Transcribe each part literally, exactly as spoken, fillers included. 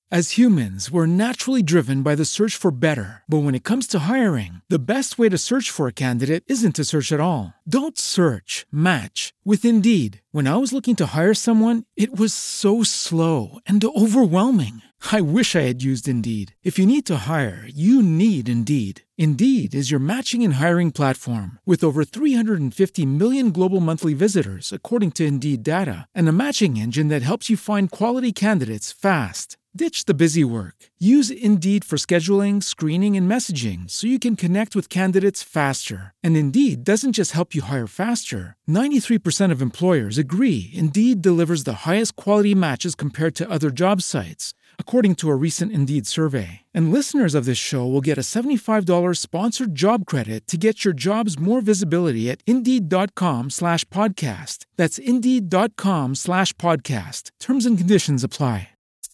As humans, we're naturally driven by the search for better. But when it comes to hiring, the best way to search for a candidate isn't to search at all. Don't search, match with Indeed. When I was looking to hire someone, it was so slow and overwhelming. I wish I had used Indeed. If you need to hire, you need Indeed. Indeed is your matching and hiring platform with over three hundred fifty million global monthly visitors, according to Indeed data, and a matching engine that helps you find quality candidates fast. Ditch the busy work. Use Indeed for scheduling, screening, and messaging so you can connect with candidates faster. And Indeed doesn't just help you hire faster. ninety-three percent of employers agree Indeed delivers the highest quality matches compared to other job sites, according to a recent Indeed survey. And listeners of this show will get a seventy-five dollars sponsored job credit to get your jobs more visibility at Indeed.com slash podcast. That's Indeed.com slash podcast. Terms and conditions apply.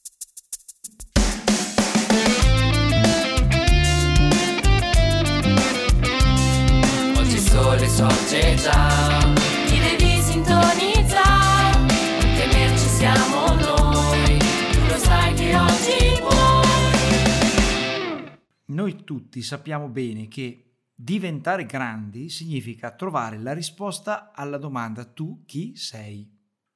Sole sorge già, ti devi sintonizzare, non temerci siamo noi, tu lo sai che oggi puoi. Noi tutti sappiamo bene che diventare grandi significa trovare la risposta alla domanda tu chi sei.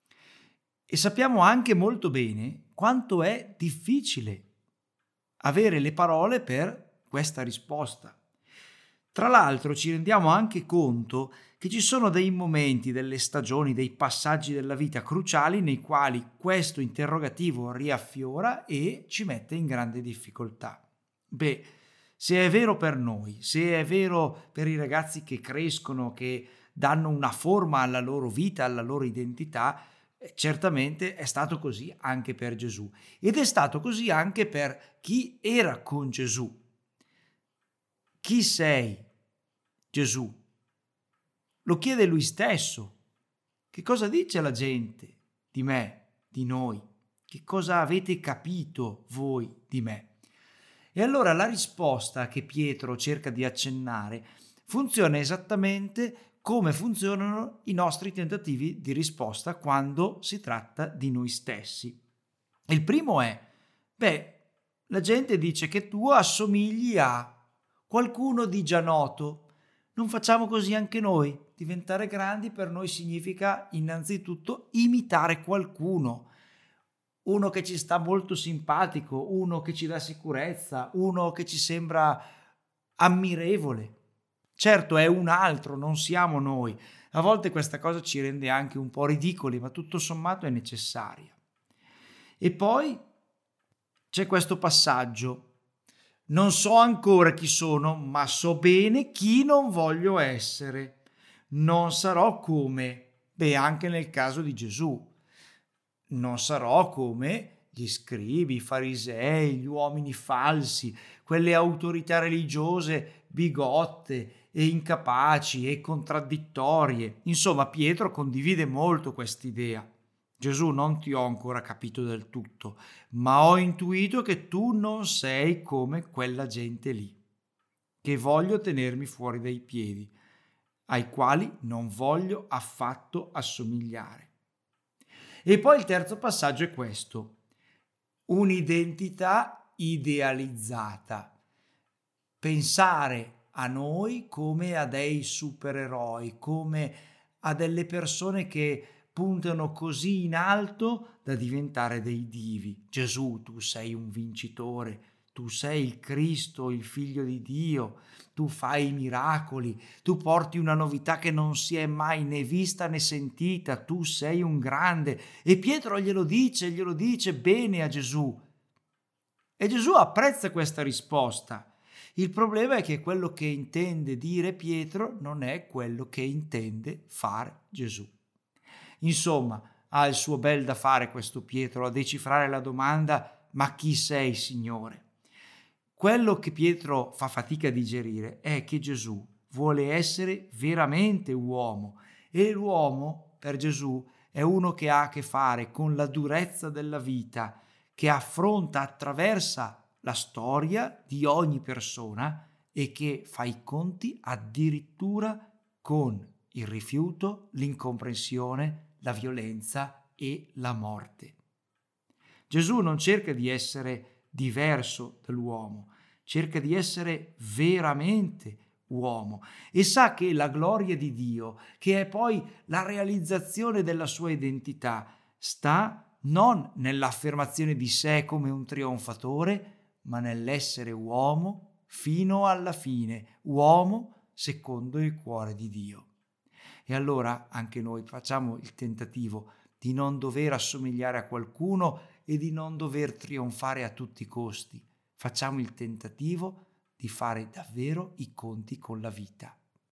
E sappiamo anche molto bene quanto è difficile avere le parole per questa risposta. Tra l'altro ci rendiamo anche conto che ci sono dei momenti, delle stagioni, dei passaggi della vita cruciali nei quali questo interrogativo riaffiora e ci mette in grande difficoltà. Beh, se è vero per noi, se è vero per i ragazzi che crescono, che danno una forma alla loro vita, alla loro identità, certamente è stato così anche per Gesù. Ed è stato così anche per chi era con Gesù. Chi sei, Gesù? Lo chiede lui stesso. Che cosa dice la gente di me, di noi? Che cosa avete capito voi di me? E allora la risposta che Pietro cerca di accennare funziona esattamente come funzionano i nostri tentativi di risposta quando si tratta di noi stessi. Il primo è, beh, la gente dice che tu assomigli a qualcuno di già noto. Non facciamo così anche noi? Diventare grandi per noi significa innanzitutto imitare qualcuno, uno che ci sta molto simpatico, uno che ci dà sicurezza, uno che ci sembra ammirevole. Certo è un altro, non siamo noi. A volte questa cosa ci rende anche un po' ridicoli, ma tutto sommato è necessaria. E poi c'è questo passaggio. Non so ancora chi sono, ma so bene chi non voglio essere. Non sarò come, beh, anche nel caso di Gesù. Non sarò come gli scribi, i farisei, gli uomini falsi, quelle autorità religiose bigotte e incapaci e contraddittorie. Insomma, Pietro condivide molto quest'idea. Gesù, non ti ho ancora capito del tutto, ma ho intuito che tu non sei come quella gente lì, che voglio tenermi fuori dai piedi, ai quali non voglio affatto assomigliare. E poi il terzo passaggio è questo: un'identità idealizzata. Pensare a noi come a dei supereroi, come a delle persone che puntano così in alto da diventare dei divi. Gesù, tu sei un vincitore, tu sei il Cristo, il Figlio di Dio, tu fai i miracoli, tu porti una novità che non si è mai né vista né sentita, tu sei un grande. E Pietro glielo dice, glielo dice bene a Gesù. E Gesù apprezza questa risposta. Il problema è che quello che intende dire Pietro non è quello che intende fare Gesù. Insomma, ha il suo bel da fare questo Pietro a decifrare la domanda: ma chi sei, Signore? Quello che Pietro fa fatica a digerire è che Gesù vuole essere veramente uomo, e l'uomo per Gesù è uno che ha a che fare con la durezza della vita, che affronta, attraversa la storia di ogni persona e che fa i conti addirittura con il rifiuto, l'incomprensione, la violenza e la morte. Gesù non cerca di essere diverso dall'uomo, cerca di essere veramente uomo e sa che la gloria di Dio, che è poi la realizzazione della sua identità, sta non nell'affermazione di sé come un trionfatore, ma nell'essere uomo fino alla fine, uomo secondo il cuore di Dio. E allora anche noi facciamo il tentativo di non dover assomigliare a qualcuno e di non dover trionfare a tutti i costi. Facciamo il tentativo di fare davvero i conti con la vita.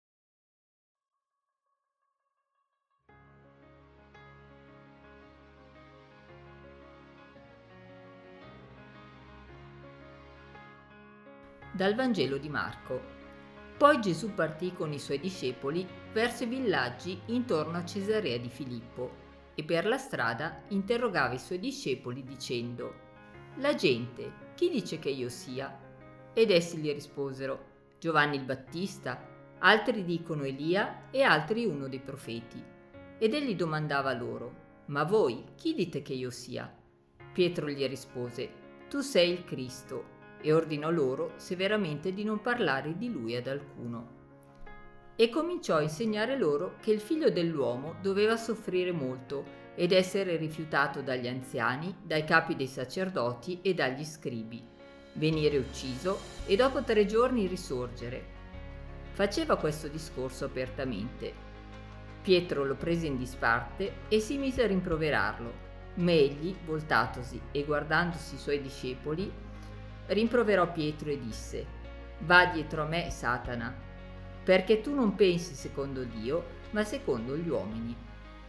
Dal Vangelo di Marco. Poi Gesù partì con i suoi discepoli verso i villaggi intorno a Cesarea di Filippo e per la strada interrogava i suoi discepoli dicendo: «La gente, chi dice che io sia?» Ed essi gli risposero: «Giovanni il Battista, altri dicono Elia e altri uno dei profeti». Ed egli domandava loro: «Ma voi, chi dite che io sia?» Pietro gli rispose: «Tu sei il Cristo», e ordinò loro severamente di non parlare di lui ad alcuno. E cominciò a insegnare loro che il figlio dell'uomo doveva soffrire molto ed essere rifiutato dagli anziani, dai capi dei sacerdoti e dagli scribi, venire ucciso e dopo tre giorni risorgere. Faceva questo discorso apertamente. Pietro lo prese in disparte e si mise a rimproverarlo, ma egli, voltatosi e guardandosi i suoi discepoli, rimproverò Pietro e disse: «Va dietro a me, Satana, perché tu non pensi secondo Dio, ma secondo gli uomini».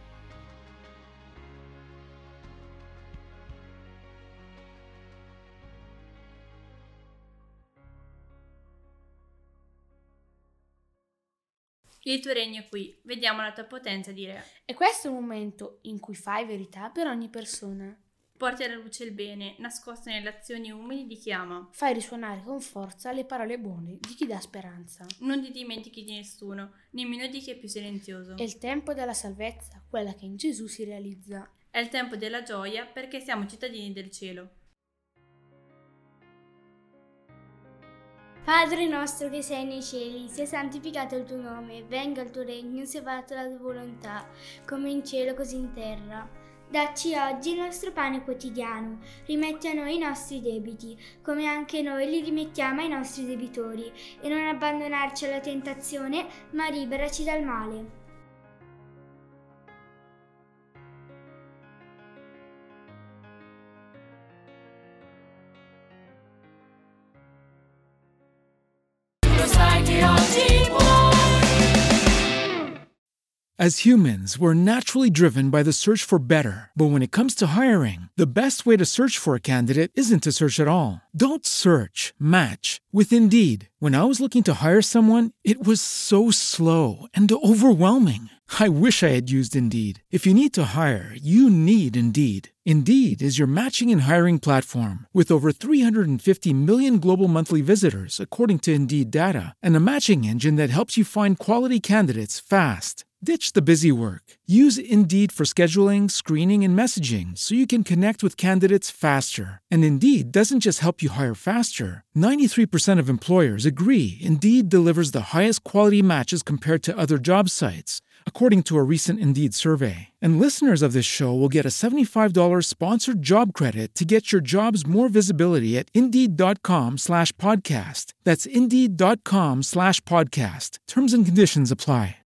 Il tuo regno è qui, vediamo la tua potenza di re. E questo è un momento in cui fai verità per ogni persona. Porti alla luce il bene, nascosto nelle azioni umili di chi ama. Fai risuonare con forza le parole buone di chi dà speranza. Non ti dimentichi di nessuno, nemmeno di chi è più silenzioso. È il tempo della salvezza, quella che in Gesù si realizza. È il tempo della gioia perché siamo cittadini del cielo. Padre nostro che sei nei cieli, sia santificato il tuo nome, venga il tuo regno, sia fatta la tua volontà, come in cielo così in terra. Dacci oggi il nostro pane quotidiano, rimetti a noi i nostri debiti, come anche noi li rimettiamo ai nostri debitori, e non abbandonarci alla tentazione, ma liberaci dal male. Sai che oggi puoi. As humans, we're naturally driven by the search for better. But when it comes to hiring, the best way to search for a candidate isn't to search at all. Don't search, match with Indeed. When I was looking to hire someone, it was so slow and overwhelming. I wish I had used Indeed. If you need to hire, you need Indeed. Indeed is your matching and hiring platform with over three hundred fifty million global monthly visitors, according to Indeed data, and a matching engine that helps you find quality candidates fast. Ditch the busy work. Use Indeed for scheduling, screening, and messaging so you can connect with candidates faster. And Indeed doesn't just help you hire faster. ninety-three percent of employers agree Indeed delivers the highest quality matches compared to other job sites, according to a recent Indeed survey. And listeners of this show will get a seventy-five dollars sponsored job credit to get your jobs more visibility at Indeed.com slash podcast. That's Indeed.com slash podcast. Terms and conditions apply.